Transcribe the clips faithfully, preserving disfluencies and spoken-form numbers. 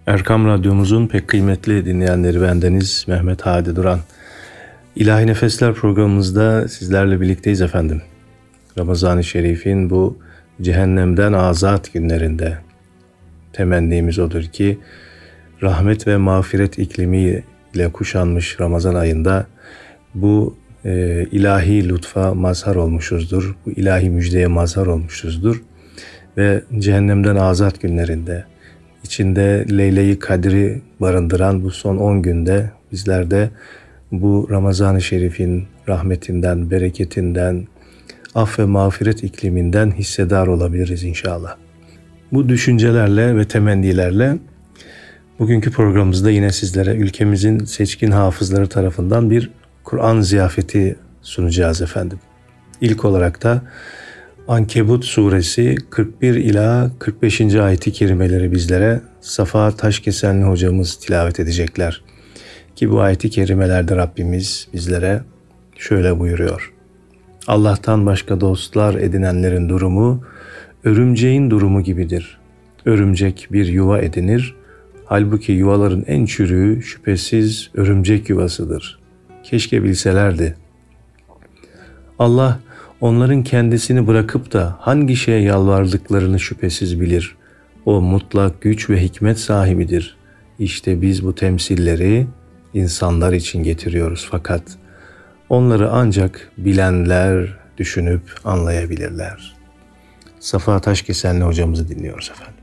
Erkam Radyomuzun pek kıymetli dinleyenleri, bendeniz Mehmet Hadi Duran. İlahi Nefesler programımızda sizlerle birlikteyiz efendim. Ramazan-ı Şerif'in bu cehennemden azat günlerinde temennimiz odur ki rahmet ve mağfiret iklimi ile kuşanmış Ramazan ayında bu e, ilahi lütfa mazhar olmuşuzdur. Bu ilahi müjdeye mazhar olmuşuzdur. Ve cehennemden azat günlerinde, içinde Leyle-i Kadri barındıran bu son on günde bizler de bu Ramazan-ı Şerif'in rahmetinden, bereketinden, af ve mağfiret ikliminden hissedar olabiliriz inşallah. Bu düşüncelerle ve temennilerle bugünkü programımızda yine sizlere ülkemizin seçkin hafızları tarafından bir Kur'an ziyafeti sunacağız efendim. İlk olarak da Ankebut suresi kırk bir ila kırk beşinci ayeti kerimeleri bizlere Safa Taşkesenli hocamız tilavet edecekler. Ki bu ayeti kerimelerde Rabbimiz bizlere şöyle buyuruyor. Allah'tan başka dostlar edinenlerin durumu örümceğin durumu gibidir. Örümcek bir yuva edinir. Halbuki yuvaların en çürüğü şüphesiz örümcek yuvasıdır. Keşke bilselerdi. Allah onların kendisini bırakıp da hangi şeye yalvardıklarını şüphesiz bilir. O mutlak güç ve hikmet sahibidir. İşte biz bu temsilleri insanlar için getiriyoruz fakat onları ancak bilenler düşünüp anlayabilirler. Safa Taşkesenli hocamızı dinliyoruz efendim.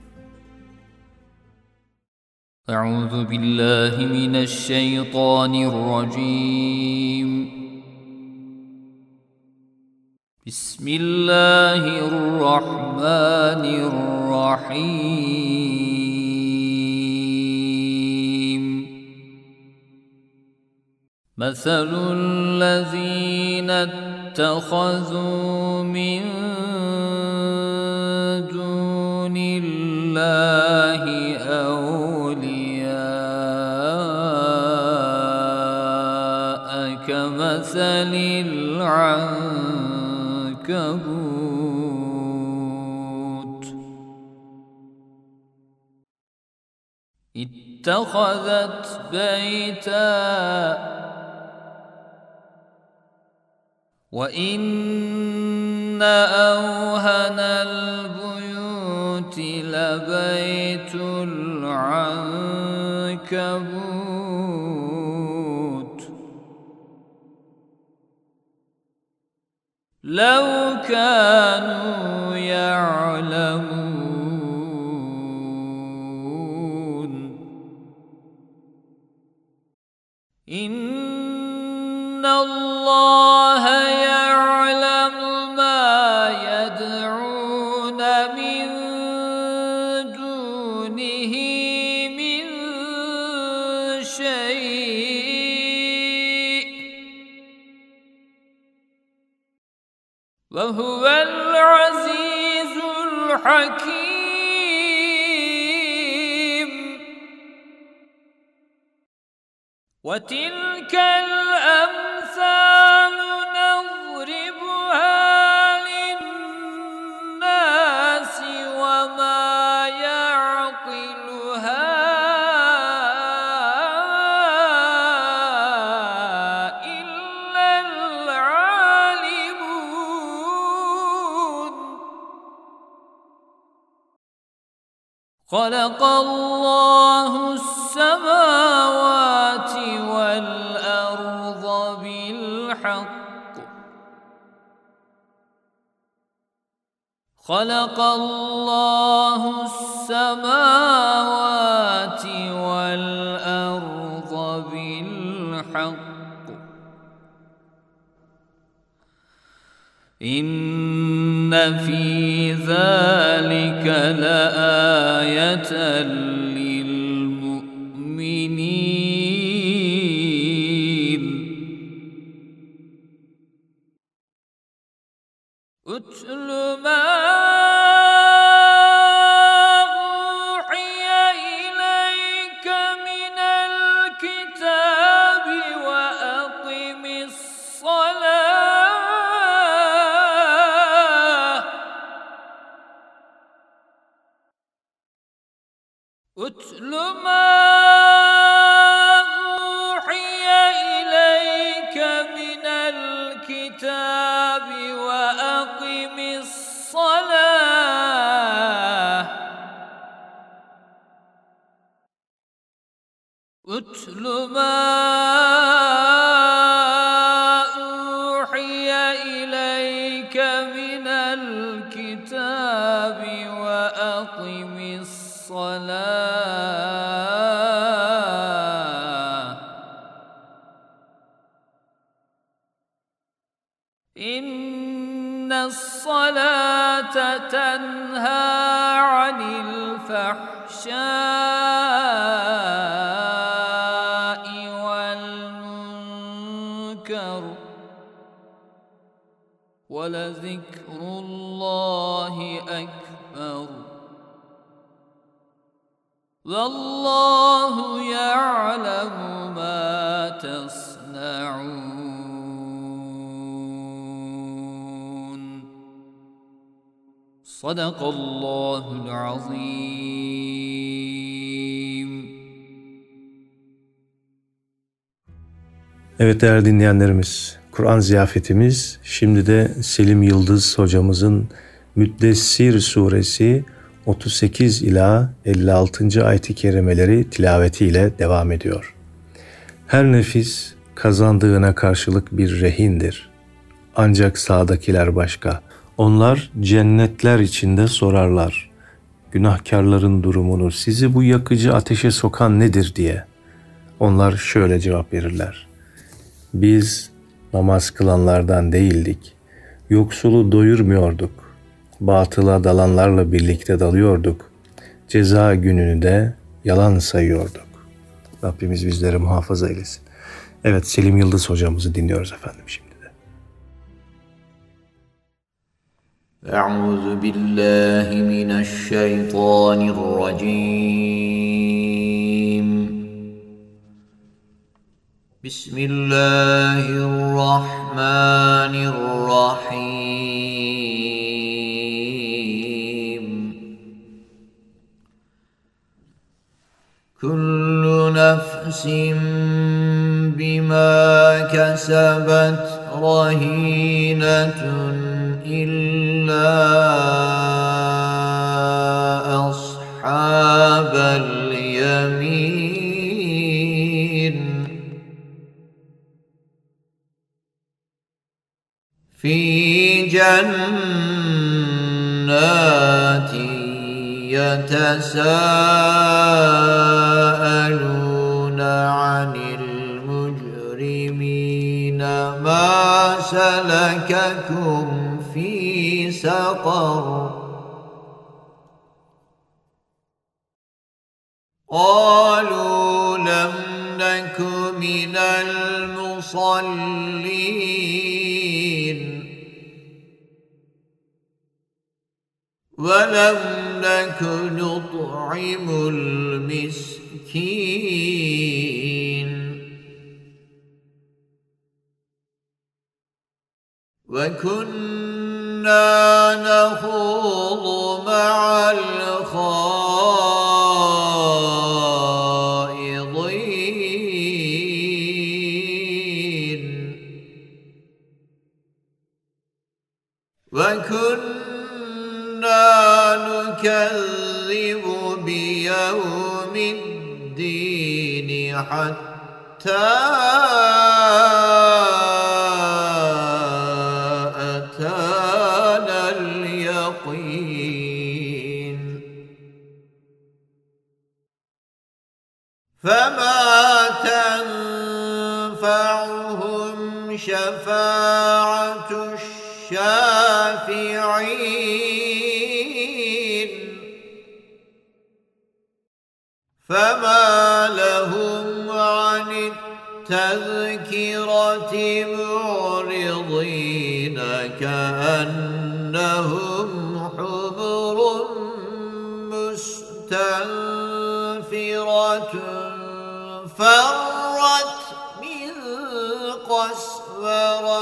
Euzu billahi mineşşeytanirracim. Bismillahirrahmanirrahim. Meselul lezîne ittehazû min dûnillâhi evliyâe kemeselil ankebût ittehazet beyten وَإِنَّ أَوْهَنَ الْبُيُوتِ لَبَيْتُ الْعَنكَبُوتِ لَوْ كَانُوا يَعْلَمُونَ إِنَّ اللَّهَ يَعْلَمُ مَا يَدْعُونَ مِن دُونِهِ مِن شَيْءٍ وَهُوَ الْعَزِيزُ الْحَكِيمُ وَتِلْكَ الْأَمْثَالُ نَضْرِبُهَا لِلنَّاسِ وَمَا يَعْقِلُهَا إِلَّا الْعَالِمُونَ خَلَقَ اللَّهُ السَّمَاوَاتِ وَالْأَرْضَ بِالْحَقِّ خَلَقَ اللَّهُ السَّمَاوَاتِ وَالْأَرْضَ بِالْحَقِّ إِنَّ فِي ذَلِكَ لَآيَةً لِلْمُؤْمِنِينَ اتل ما أوحي إليك من الكتاب وأقم الصلاة اتل أتل ما أوحي إليك من الكتاب وأقم الصلاة أتل ما أوحي إليك من الكتاب وأقم الصلاة إن الصلاة تنهى عن الفحشاء والمنكر ولذكر الله أكبر والله يعلم ما تصنعون صدق الله العظيم. Evet değerli dinleyenlerimiz, Kur'an ziyafetimiz şimdi de Selim Yıldız hocamızın Müddessir suresi otuz sekiz ila elli altıncı ayet-i kerimeleri tilavetiyle devam ediyor. Her nefis kazandığına karşılık bir rehindir. Ancak sağdakiler başka. Onlar cennetler içinde sorarlar. Günahkarların durumunu, sizi bu yakıcı ateşe sokan nedir diye. Onlar şöyle cevap verirler. Biz namaz kılanlardan değildik. Yoksulu doyurmuyorduk. Batıla dalanlarla birlikte dalıyorduk. Ceza gününü de yalan sayıyorduk. Rabbimiz bizleri muhafaza eylesin. Evet, Selim Yıldız hocamızı dinliyoruz efendim şimdi de. Euzu billahi mineşşeytanirracim. Bismillahirrahmanirrahim. Kullu nefsin bima kesebet rahinetun illa ashabel yemin. Fi cennetin yetesâelûne anil mücrimîne mâ selekekum fî sakar. قالوا لم نك من المصلين ولم نك نطعم المسكين وكنا نخوض مع الخائضين وكنا نكذب بيوم الدين حتى أتانا اليقين فما تنفعهم شفاعة الشافعين فما لهم عن التذكرة معرضين كأنهم حمر مستنفرة فرت من قسورة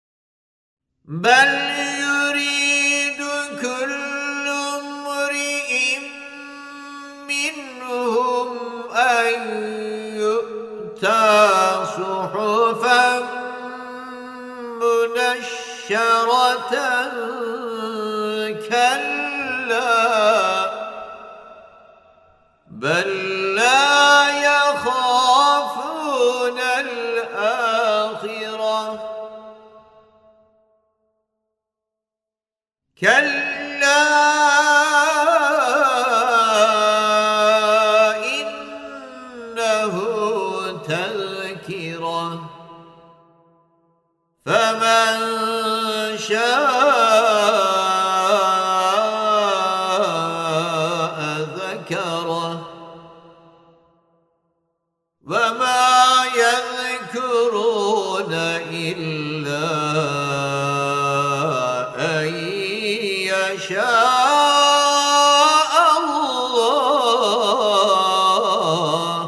بل يريد كل امرئ كلا بل لا يخافون الآخرة كلا إنه تذكرة فمن شاء ذكره وما يذكرون إلا أن يشاء الله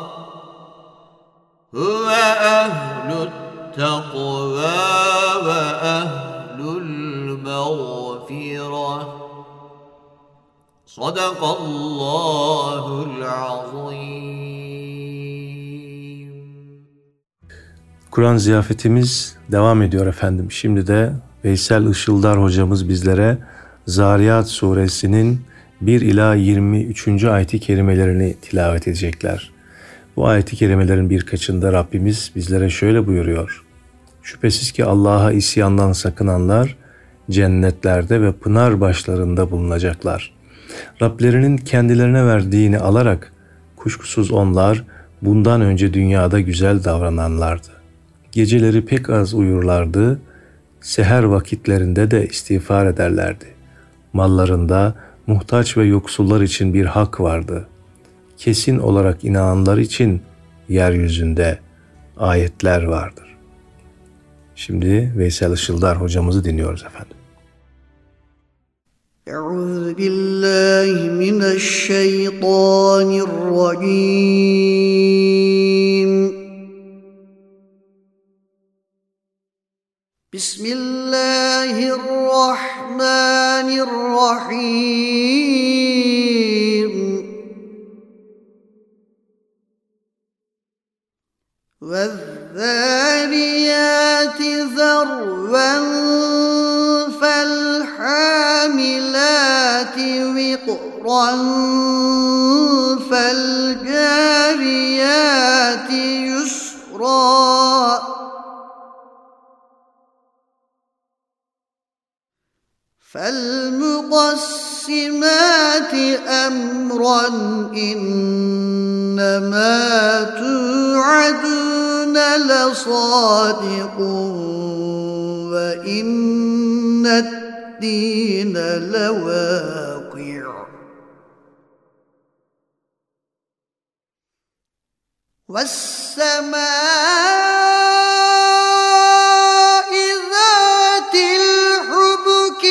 هو أهل التقوى وأهل المغفرة صدق الله العظيم. Kur'an ziyafetimiz devam ediyor efendim. Şimdi de Veysel Işıldar hocamız bizlere Zariyat suresinin bir ila yirmi üçüncü ayet-i kerimelerini tilavet edecekler. Bu ayet-i kerimelerin birkaçında Rabbimiz bizlere şöyle buyuruyor. Şüphesiz ki Allah'a isyandan sakınanlar cennetlerde ve pınar başlarında bulunacaklar. Rablerinin kendilerine verdiğini alarak kuşkusuz onlar bundan önce dünyada güzel davrananlardı. Geceleri pek az uyurlardı, seher vakitlerinde de istiğfar ederlerdi. Mallarında muhtaç ve yoksullar için bir hak vardı. Kesin olarak inananlar için yeryüzünde ayetler vardır. Şimdi Veysel Işıldar hocamızı dinliyoruz efendim. Euzu billahi mineşşeytanirracim. Bismillahirrahmanirrahim. وَالذَّارِيَاتِ ذَرْوًا فَالْحَامِلَاتِ وِقْرًا فَالْجَارِيَاتِ يُسْرًا فَالْمُقَسِّمَاتِ أَمْرًا إِنَّمَا تُوعَدُونَ لَصَادِقٌ وَإِنَّ الدِّينَ لَوَاقِعٌ وَالسَّمَاءِ ذَاتِ الْحُبُكِ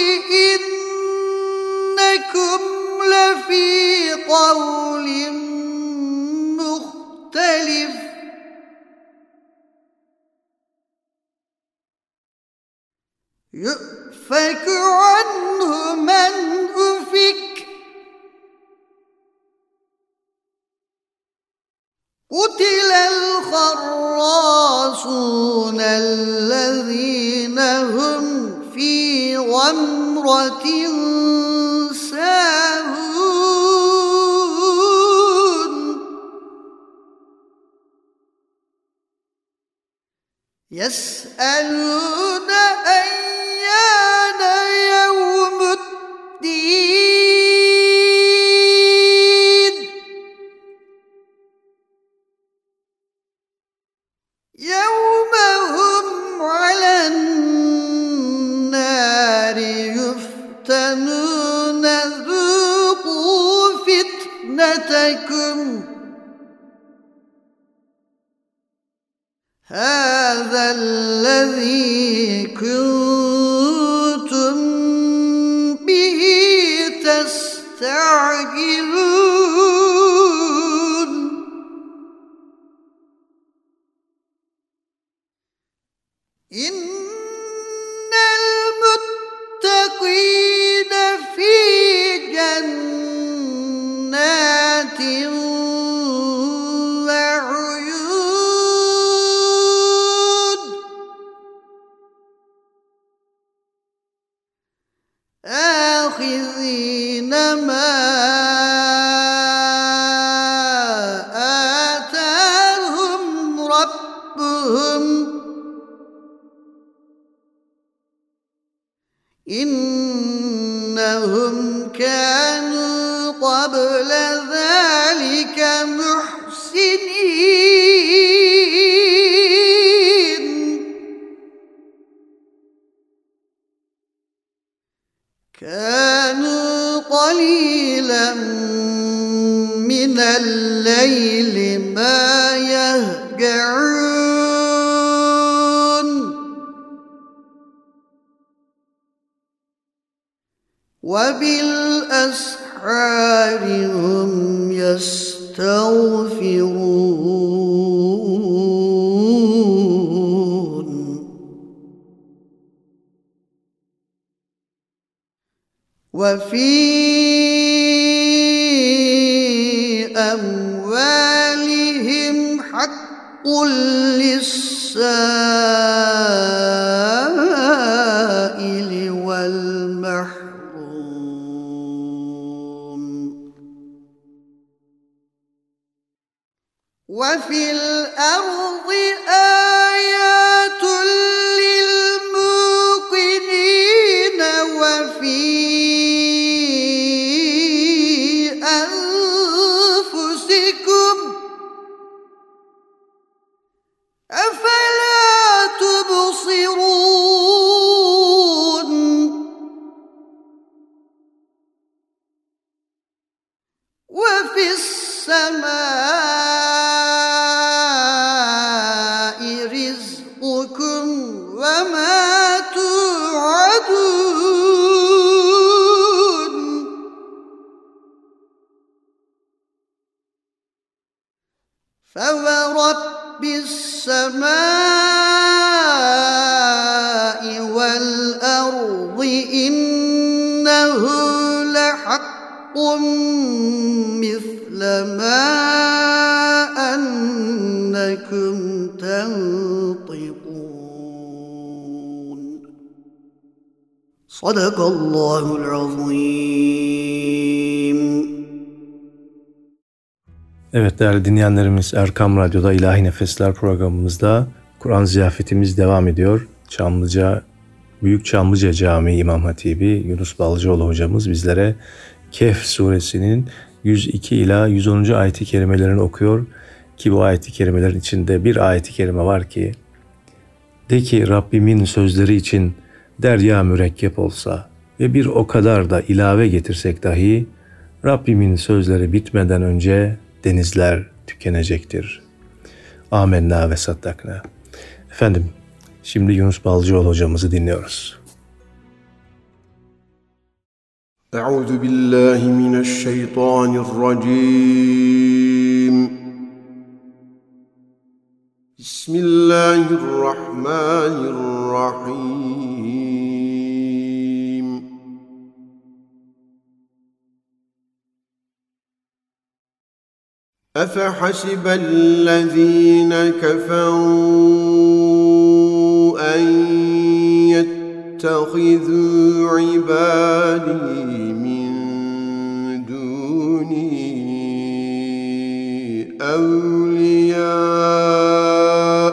إِنَّكُمْ لَفِي قَوْلٍ مُخْتَلِفٍ يُؤْفَكُ عَنْهُ مَنْ أُفِكَ قُتِلَ الْخَرَّاصُونَ الَّذِينَ هُمْ فِي غَمْرَةٍ سَاهُونَ يَسْأَلُونَ أَيَّانَ يَوْمُ الدِّينِ يَوْمَ هُمْ عَلَى النَّارِ يُفْتَنُونَ ذُوقُوا فِتْنَتَكُمْ هَذَا الَّذِي كُنتُمْ بِهِ تَسْتَعْجِلُونَ إِنَّ الْمُتَّقِينَ فِي جَنَّاتٍ وَعُيُونٍ آتاهم ربهم إنهم كانوا قبل ذلك محسنين كانوا قليلا من الليل ما يهجعون وبالأسحار هم يستغفرون وفي أموالهم حق للسائل والمحروم وفي الأرض آيات للموقنين وفي أنفسكم أفلا تبصرون وفي السماء رزقكم وما توعدون فورب السماء والأرض إنه لحق مثل ما أنكم تنطقون صدق الله العظيم. Evet değerli dinleyenlerimiz, Erkam Radyo'da İlahi Nefesler programımızda Kur'an ziyafetimiz devam ediyor. Çamlıca, Büyük Çamlıca Camii İmam Hatibi Yunus Balcıoğlu hocamız bizlere Kehf suresinin yüz iki ila yüz onuncu ayet-i kerimelerini okuyor ki bu ayet-i kerimelerin içinde bir ayet-i kerime var ki de ki Rabbimin sözleri için derya mürekkep olsa ve bir o kadar da ilave getirsek dahi Rabbimin sözleri bitmeden önce denizler tükenecektir. Amenna ve saddakna. Efendim, şimdi Yunus Balcıoğlu hocamızı dinliyoruz. Euzu billahi mineşşeytanirracim. Bismillahirrahmanirrahim. أفحسب الذين كفروا أن يتخذوا عبادي من دوني أولياء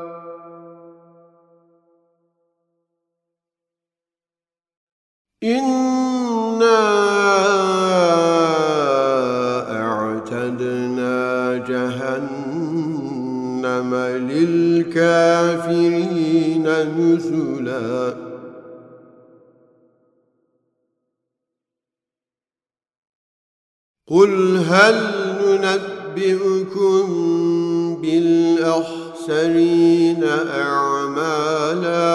إنا جهنم للكافرين نزلا قل هل ننبئكم بالأخسرين أعمالا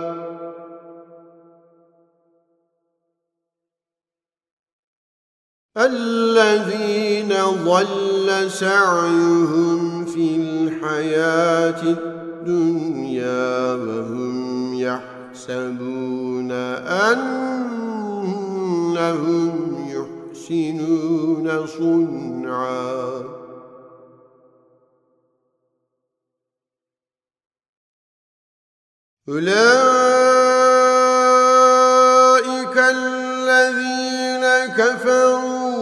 الذين ضل سعيهم في الحياة الدنيا وهم يحسبون أنهم يحسنون صنعا أولئك الذين كفروا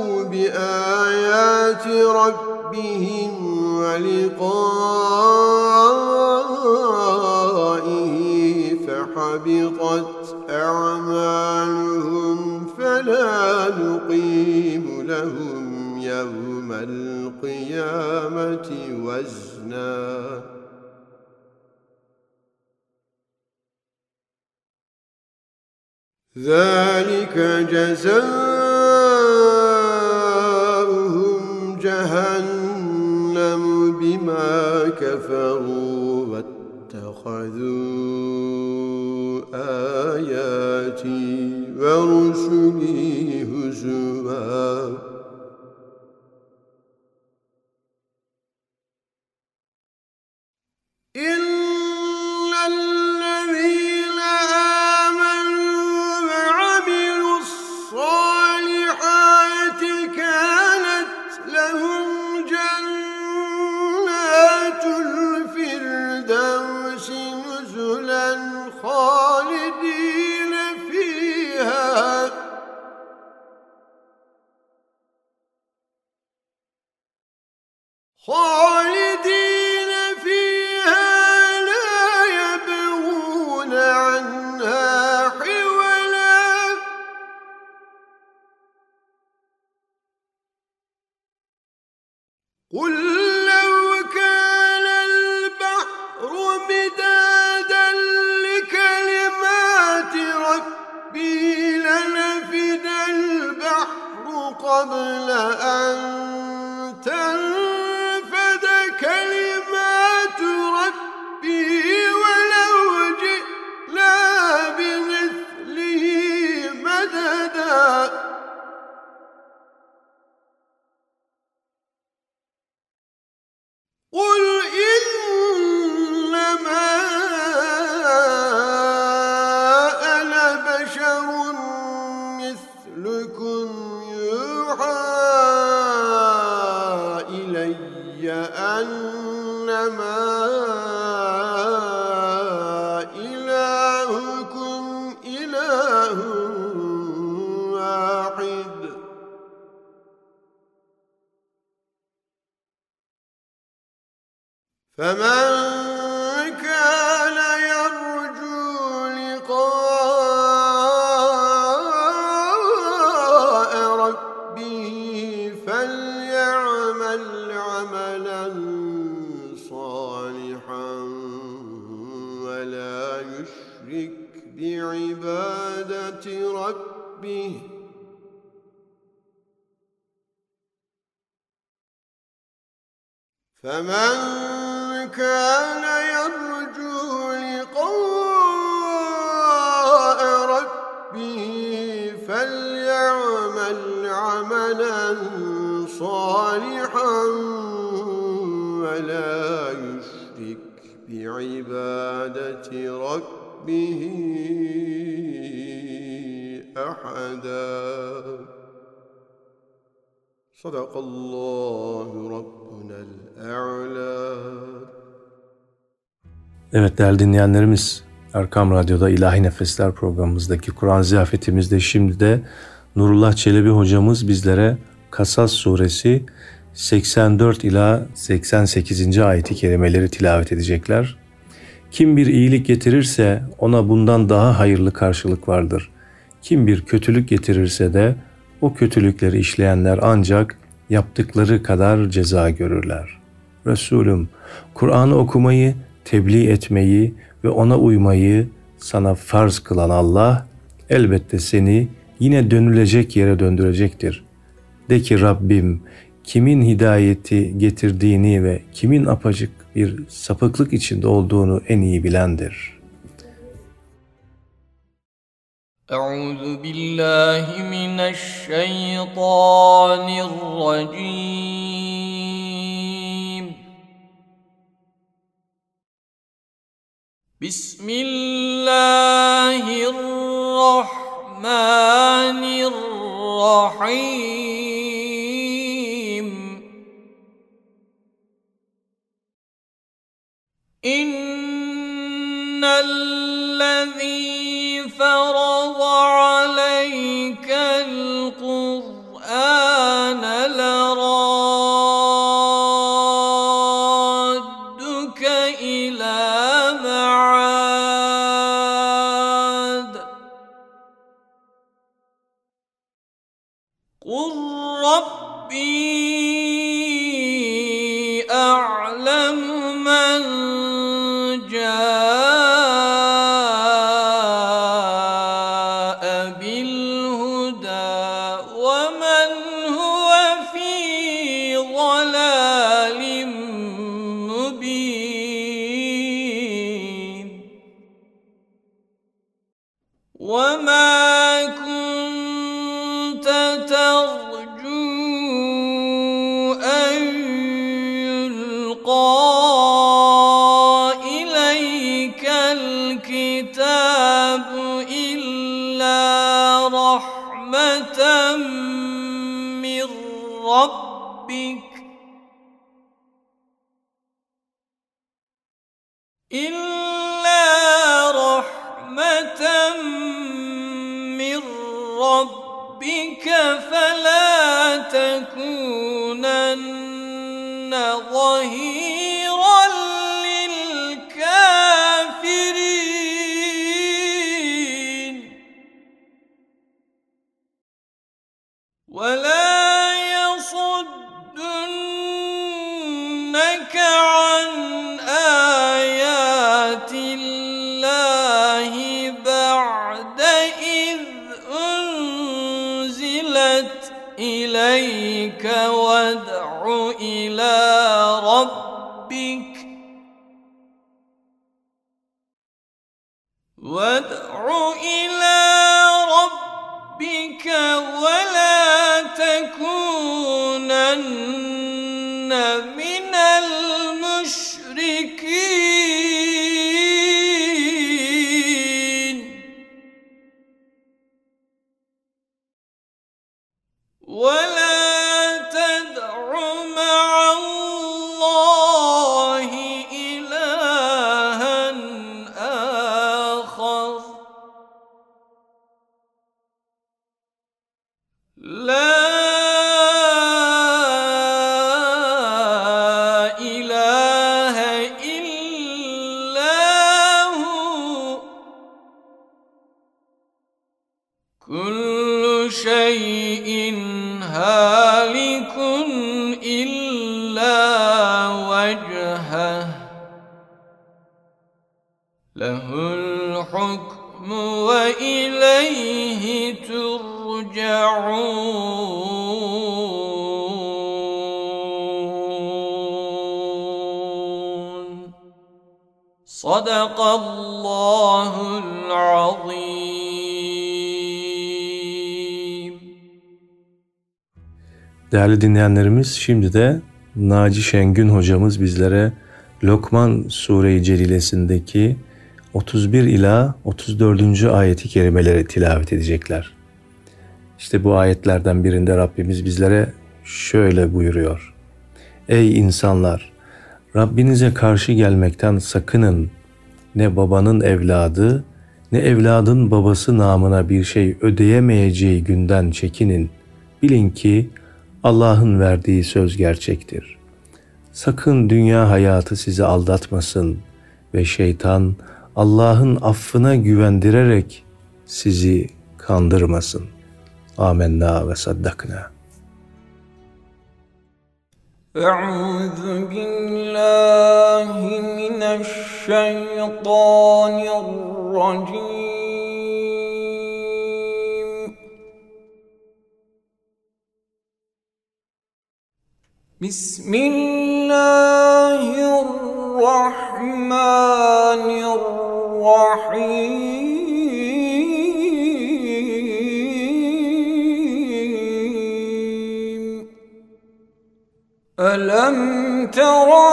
آيات ربهم ولقائه فحبطت أعمالهم فلا نقيم لهم يوم القيامة وزنا ذلك جزاؤهم جهنم بما كفروا واتخذوا آياتي ورسلي هزوا إن الذين آمنوا وعملوا الصالحات كانت لهم جنات الفردوس نزلا خالدين فيها خالدين فيها لا يبغون عنها حولا قل لو كان البحر مدادا لكلمات ربي لنفد البحر قبل أن تنفد كلمات ربي ولو جئنا بمثله مددا قل إنما أنا بشر مثلكم يوحى إلي أنما إلهكم إله واحد فمن كان يرجو لقاء ربه فليعمل عملا صالحا ولا يشرك بعبادة ربه فمن كان يرجو لقاء ربه فليعمل عملا صالحا ولا يشرك بعبادة ربه أحدا صدق الله ربنا الأعلى. Evet değerli dinleyenlerimiz, Erkam Radyo'da İlahi Nefesler programımızdaki Kur'an ziyafetimizde şimdi de Nurullah Çelebi hocamız bizlere Kasas suresi seksen dört ila seksen sekizinci ayeti kerimeleri tilavet edecekler. Kim bir iyilik getirirse ona bundan daha hayırlı karşılık vardır. Kim bir kötülük getirirse de o kötülükleri işleyenler ancak yaptıkları kadar ceza görürler. Resulüm, Kur'an'ı okumayı, tebliğ etmeyi ve ona uymayı sana farz kılan Allah, elbette seni yine dönülecek yere döndürecektir. De ki Rabbim, kimin hidayeti getirdiğini ve kimin apacık bir sapıklık içinde olduğunu en iyi bilendir. Euzu billahi mineşşeytanirracim. Bismillahirrahmanirrahim. İnnellezî ferada aleykel Kur'âne lerâ ربي أعلم من جاء بالهدى ومن هو في ضلال مبين وما كنت ترجو أن يلقى إليك الكتاب إلا رحمة من ربك إلا رحمة من ربك فلا تكونن ظهيرا للكافرين ولا يصدنك عن آيات الله بعد إذ أنزلت إليك وادع إلى ربك وادع إلى ربك ولا تكونن من المشركين ولا تدع مع الله إلها آخر لا إله إلا هو كل شيء هالك إلا وجهه له الحكم وإليه ترجعون صدق الله العظيم. Değerli dinleyenlerimiz, şimdi de Naci Şengün hocamız bizlere Lokman Sure-i Celilesindeki otuz bir ila otuz dördüncü ayeti kerimeleri tilavet edecekler. İşte bu ayetlerden birinde Rabbimiz bizlere şöyle buyuruyor: Ey insanlar! Rabbinize karşı gelmekten sakının. Ne babanın evladı, ne evladın babası namına bir şey ödeyemeyeceği günden çekinin. Bilin ki Allah'ın verdiği söz gerçektir. Sakın dünya hayatı sizi aldatmasın ve şeytan Allah'ın affına güvendirerek sizi kandırmasın. Âmennâ ve saddaknâ. Euzu billahi mineşşeytanirracim. Bismillahirrahmanirrahim. Alam tera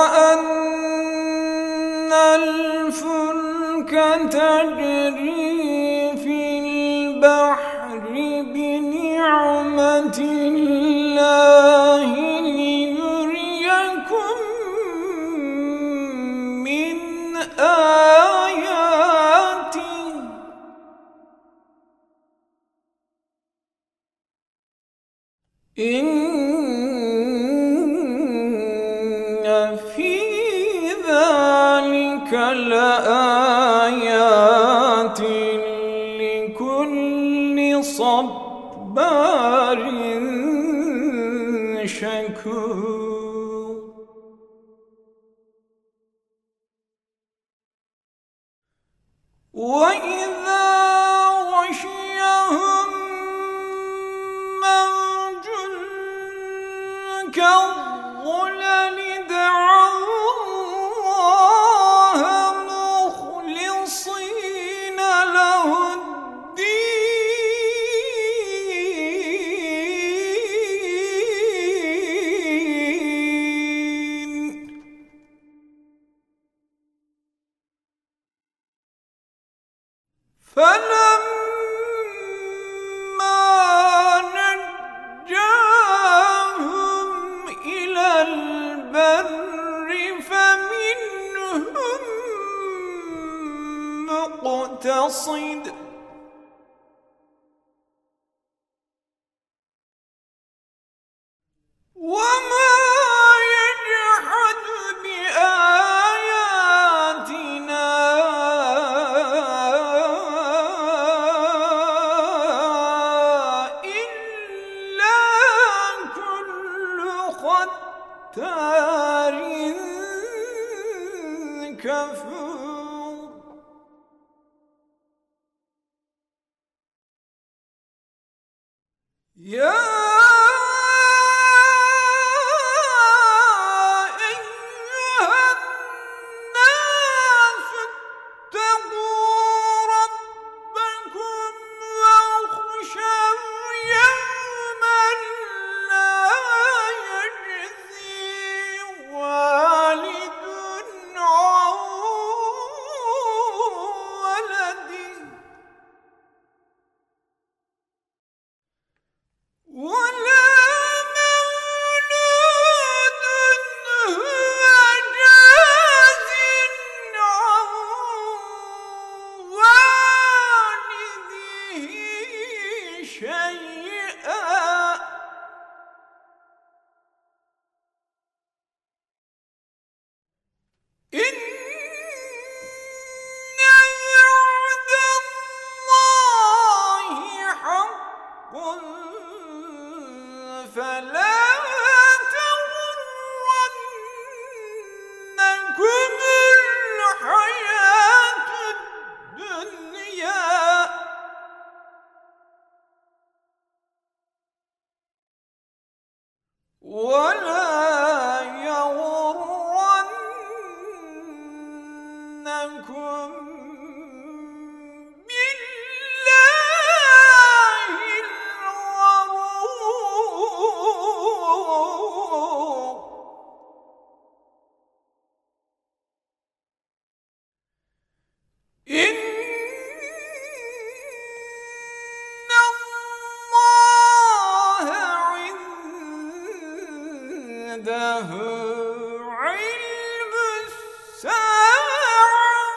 ennel fulka tecri fil bahri bi ni'metillahi liyuriyakum min ayatihi. İnne fî zâlike leâyâtin شكور وإذا غشيهم موج كالظلل دعوا الله مخلصين له الدين فلما نجاهم إلى البر فمنهم مقتصد وما يجحد بآياتنا إلا كل ختار كفور يا أيها الناس اتقوا ربكم واخشوا يوما لا يجزي والد عن ولده ولا مولود هو جاز عن والده شيئا إن وعد الله حق فلا تغرنكم الحياة الدنيا ولا يغرنكم بالله الغرور إن الله عنده علم الساعة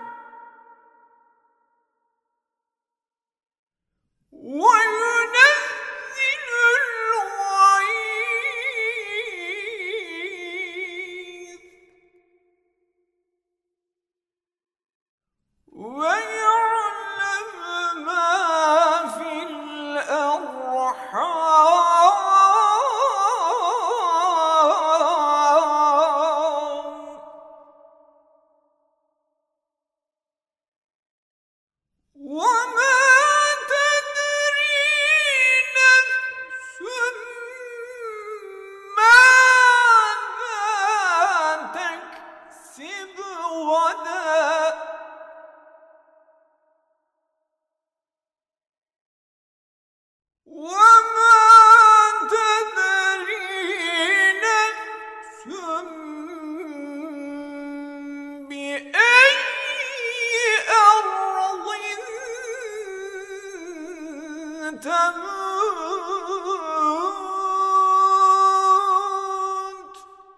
وينزل الغيث ويعلم ما في الأرحام وما تدري نفس ماذا تكسب غدا وما تدري نفس بأي أرض تموت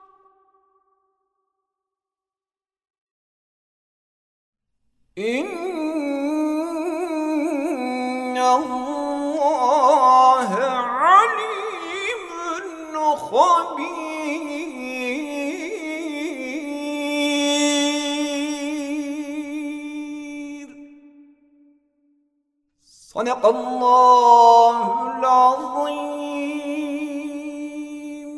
إن الله عليم خبير صدق الله العظيم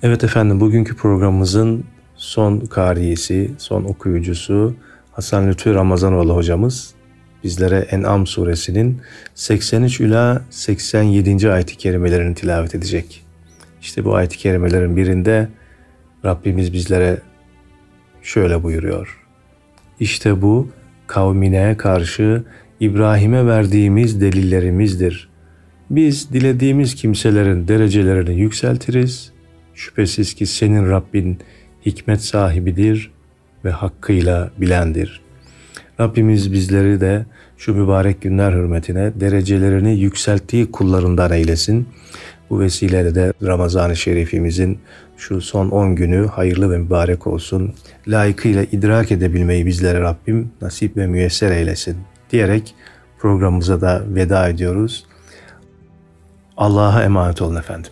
Evet efendim, bugünkü programımızın son kariyesi, son okuyucusu Hasan Lütfü Ramazanoğlu hocamız bizlere En'am suresinin seksen üç ila seksen yedinci ayet-i kerimelerini tilavet edecek. İşte bu ayet-i kerimelerin birinde Rabbimiz bizlere şöyle buyuruyor. İşte bu kavmine karşı İbrahim'e verdiğimiz delillerimizdir. Biz dilediğimiz kimselerin derecelerini yükseltiriz. Şüphesiz ki senin Rabbin hikmet sahibidir ve hakkıyla bilendir. Rabbimiz bizleri de şu mübarek günler hürmetine derecelerini yükselttiği kullarından eylesin. Bu vesileyle de Ramazan-ı Şerifimizin şu son on günü hayırlı ve mübarek olsun. Layıkıyla idrak edebilmeyi bizlere Rabbim nasip ve müyesser eylesin diyerek programımıza da veda ediyoruz. Allah'a emanet olun efendim.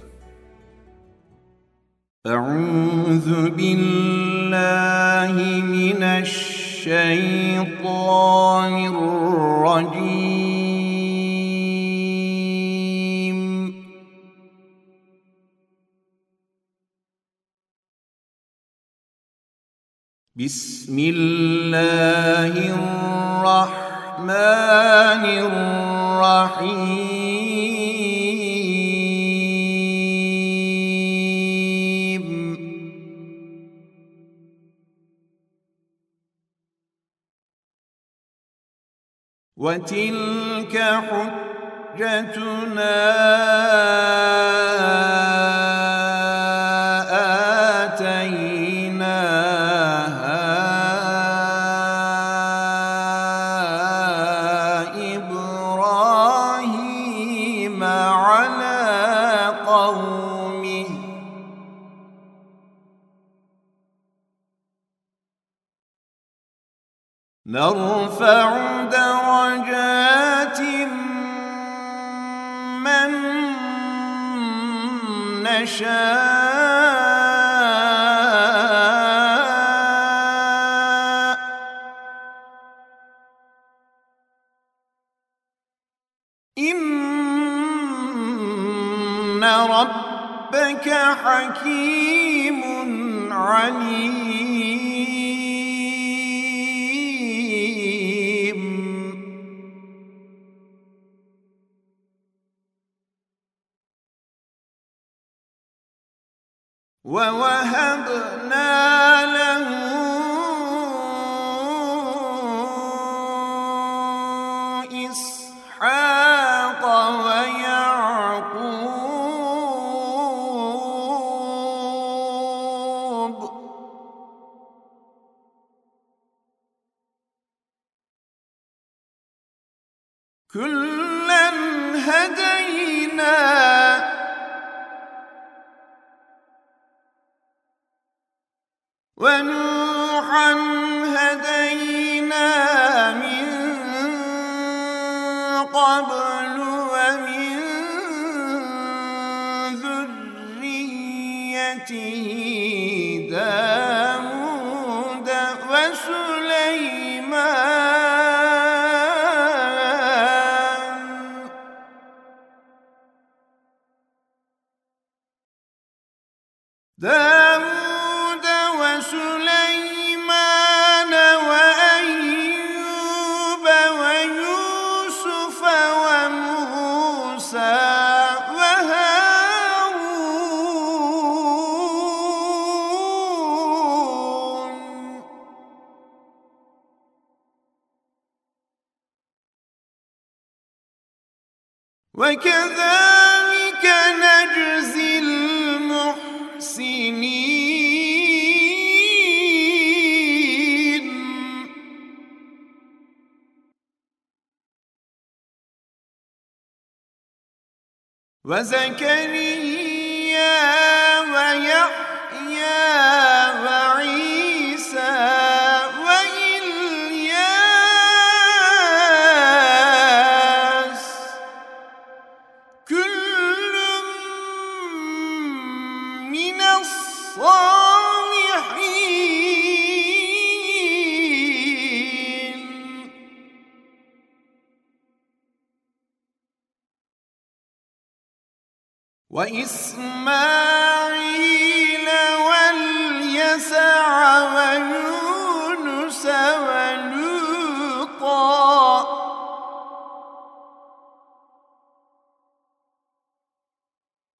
Euzu billahi mineşşeytanirracim. Bismillahirrahmanirrahim. وَتِلْكَ حُجَّتُنَا آتَيْنَاهَا إِبْرَاهِيمَ عَلَى قَوْمِهِ نَرْفَعُ درجات من نشاء إن ربك حكيم عليم. وَوَهَبْنَا لَهُ إِسْحَاقَ وَيَعْقُوبَ كُلًّا هَدَيْنَا وَنُوحًا هَدَيْنَا مِن قَبْلُ وَمِن ذُرِّيَّتِهِ دَاوُودَ وَسُلَيْمَانَ دَاوُودَ وسليمان وأيوب ويوسف وموسى وهارون وكذلك نجزي المحسنين. وزكريا ويحيى وعيسى وإلياس كل من الصالحين. وإسماعيل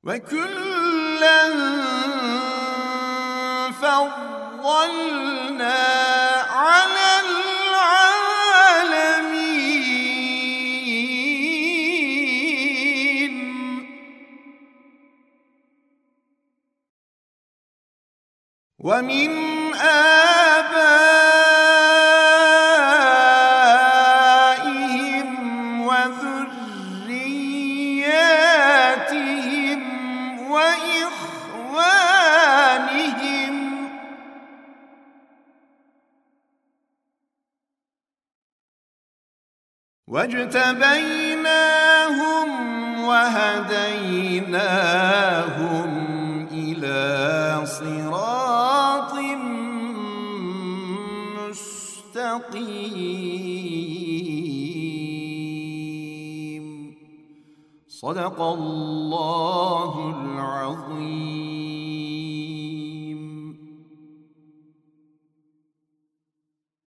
وكلا فضلنا على العالمين ومن آبائهم وذرياتهم وإخوانهم واجتبيناهم وهديناهم إلى صراط مستقيم صدق الله العظيم.